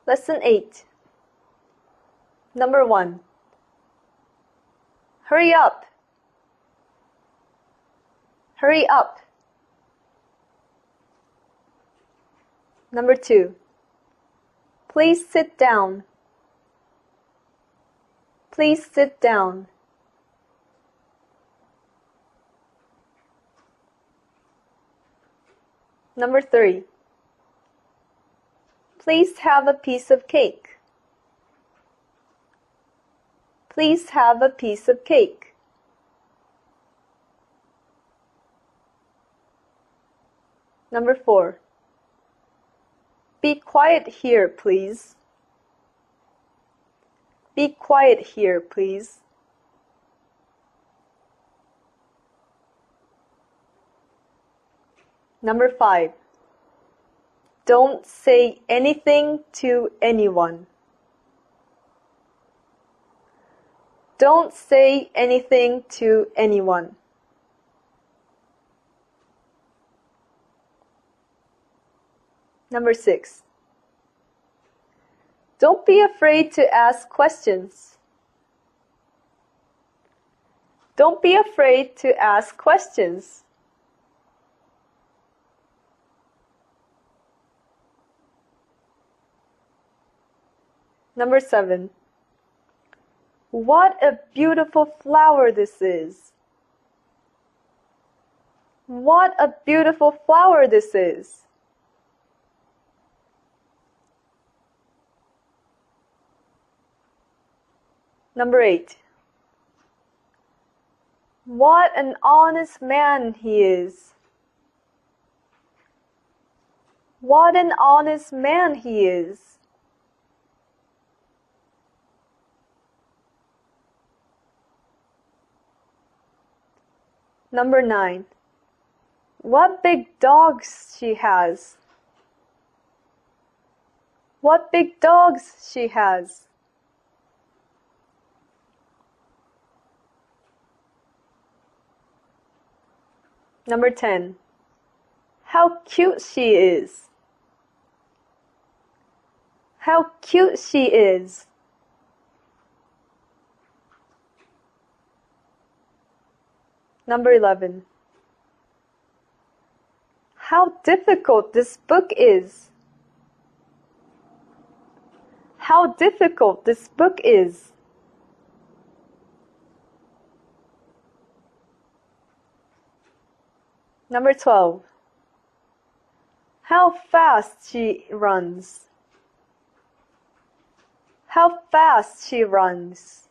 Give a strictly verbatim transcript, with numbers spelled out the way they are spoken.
Lesson eight. Number one. Hurry up. Hurry up. Number two. Please sit down. Please sit down. Number three. Please have a piece of cake. Please have a piece of cake. Number four. Be quiet here, please. Be quiet here, please. Number five. Don't say anything to anyone. Don't say anything to anyone. Number six. Don't be afraid to ask questions. Don't be afraid to ask questions. Number seven. What a beautiful flower this is. What a beautiful flower this is. Number eight. What an honest man he is. What an honest man he is. Number nine. What big dogs she has. What big dogs she has. Number ten. How cute she is. How cute she is. Number eleven. How difficult this book is. How difficult this book is. Number twelve. How fast she runs. How fast she runs.